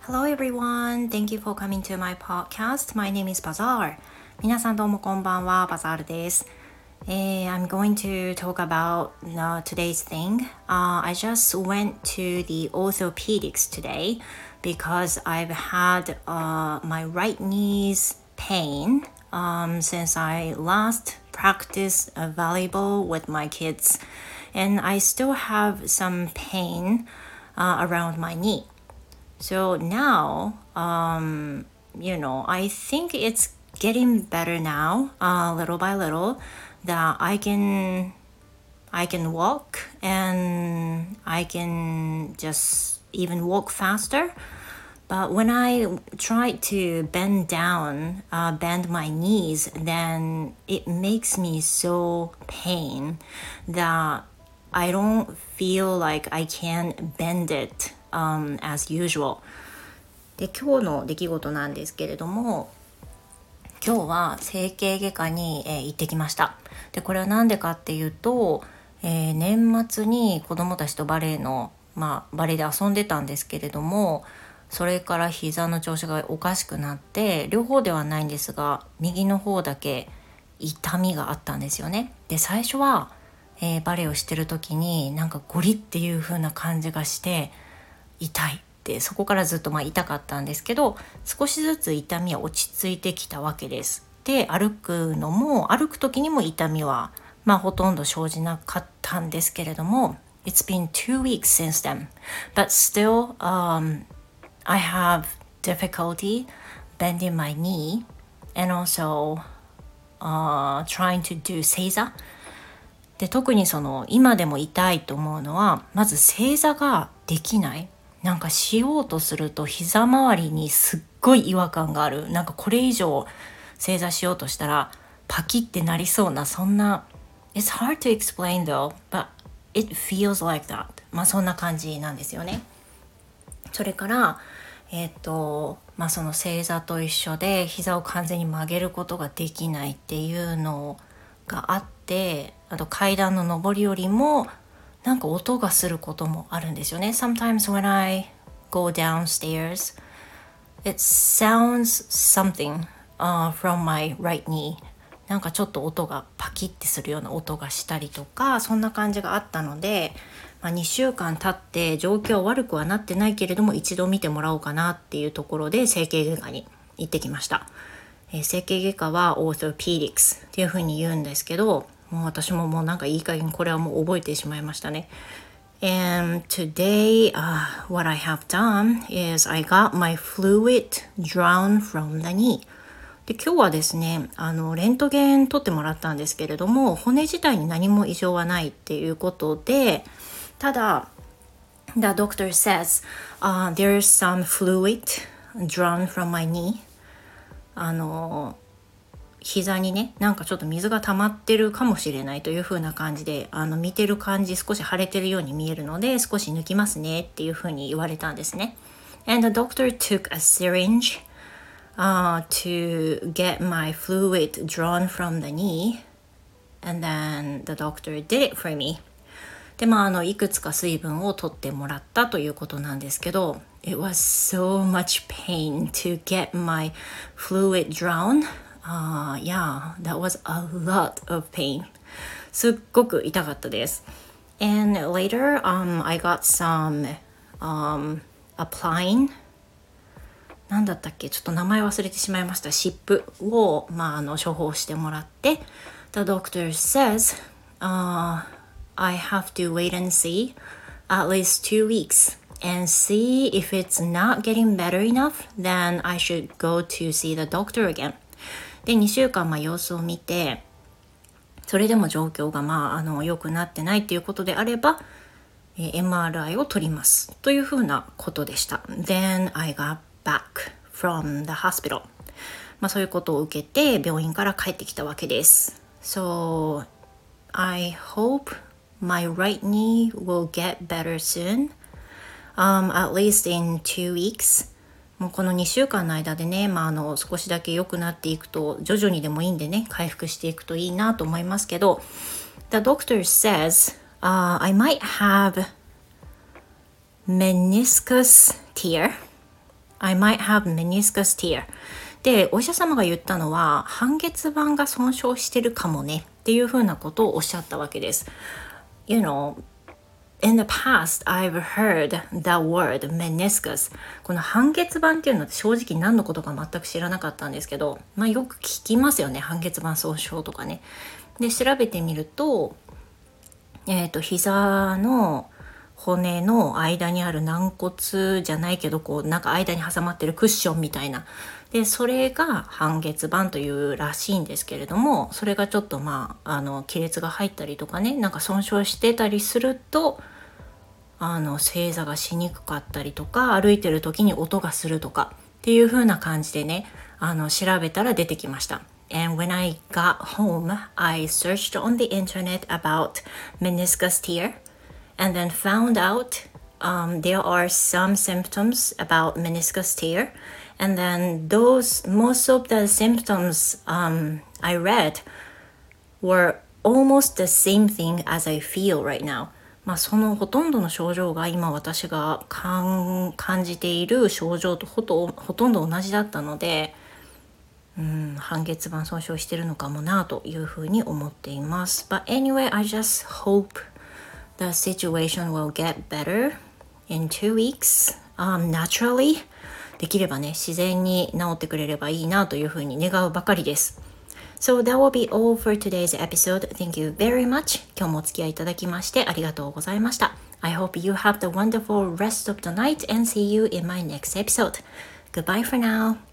Hello everyone, thank you for coming to my podcast. My name is Bazaar. 皆さんどうもこんばんは、バザールです。I'm going to talk about today's thing. I just went to the orthopedics today because I've had my right knee's pain since I last practiced volleyball with my kids. And I still have some pain around my knee. So now, I think it's getting better now, little by little, that I can walk and I can just even walk faster. But when I try to bend my knees, then it makes me so pain that I don't feel like I can bend it as usual. で、今日の出来事なんですけれども、今日は整形外科に、行ってきました。で、これは何でかっていうと、年末に子供たちとバレエで遊んでたんですけれども、それから膝の調子がおかしくなって、両方ではないんですが、右の方だけ痛みがあったんですよね。で、最初は、バレエをしてる時になんかゴリっていう風な感じがして痛いって、そこからずっと痛かったんですけど、少しずつ痛みは落ち着いてきたわけです。で、歩く時にも痛みはほとんど生じなかったんですけれども、 It's been 2 weeks since then, but still I have difficulty bending my knee and also trying to do 正座で、特に今でも痛いと思うのは、まず正座ができない。なんかしようとすると膝周りにすっごい違和感がある。なんかこれ以上正座しようとしたらパキってなりそうな、そんな It's hard to explain though, but it feels like that. そんな感じなんですよね。それからその正座と一緒で膝を完全に曲げることができないっていうのがあって、あと階段の上り下りもなんか音がすることもあるんですよね。Sometimes when I go downstairs, it sounds something from my right knee. なんかちょっと音がパキッてするような音がしたりとか、そんな感じがあったので、2週間経って状況は悪くはなってないけれども、一度見てもらおうかなっていうところで整形外科に行ってきました。整形外科は orthopedics っていう風に言うんですけど、もう私もなんかいい加減これはもう覚えてしまいましたね。And today, what I have done is I got my fluid drawn from the knee. で、今日はですね、レントゲン取ってもらったんですけれども、骨自体に何も異常はないっていうことで、ただ、The doctor says, there's some fluid drawn from my knee. 膝にね、なんかちょっと水が溜まってるかもしれないという風な感じで、見てる感じ少し腫れてるように見えるので、少し抜きますねっていう風に言われたんですね。And the doctor took a syringe to get my fluid drawn from the knee, and then the doctor did it for me. で、いくつか水分を取ってもらったということなんですけど、It was so much pain to get my fluid drawn.Yeah, that was a lot of pain. すっごく痛かったです。And later, I got some applying. なんだったっけ、ちょっと名前忘れてしまいました。湿布を、処方してもらって、The doctor says, I have to wait and see at least 2 weeks and see if it's not getting better enough, then I should go to see the doctor again.で、2週間様子を見て、それでも状況が良くなってないっていうことであれば、MRI を取りますというふうなことでした。Then I got back from the hospital. そういうことを受けて病院から帰ってきたわけです。So I hope my right knee will get better soon, at least in 2 weeks.もうこの2週間の間でね、少しだけ良くなっていくと、徐々にでもいいんでね、回復していくといいなと思いますけど、The doctor says, I might have meniscus tear. I might have meniscus tear. で、お医者様が言ったのは、半月板が損傷してるかもねっていうふうなことをおっしゃったわけです。You know, in the past, I've heard the word meniscus. この半月板っていうのって正直何のことか全く知らなかったんですけど、よく聞きますよね、半月板損傷とかね。で、調べてみると、膝の骨の間にある軟骨じゃないけど、なんか間に挟まってるクッションみたいな。で、それが半月板というらしいんですけれども、それがちょっと亀裂が入ったりとかね、なんか損傷してたりすると、正座がしにくかったりとか、歩いてる時に音がするとかっていう風な感じでね、調べたら出てきました。And when I got home, I searched on the internet about meniscus tear and then found out there are some symptoms about meniscus tear. And then most of the symptoms I read were almost the same thing as I feel right now. そのほとんどの症状が今私が感じている症状とほとんど同じだったので、半月板損傷してるのかもなというふうに思っています。But anyway, I just hope the situation will get better in 2 weeks, naturally. できればね、自然に治ってくれればいいなというふうに願うばかりです。So that will be all for today's episode. Thank you very much. 今日もお付き合いいただきましてありがとうございました。I hope you have the wonderful rest of the night and see you in my next episode. Goodbye for now.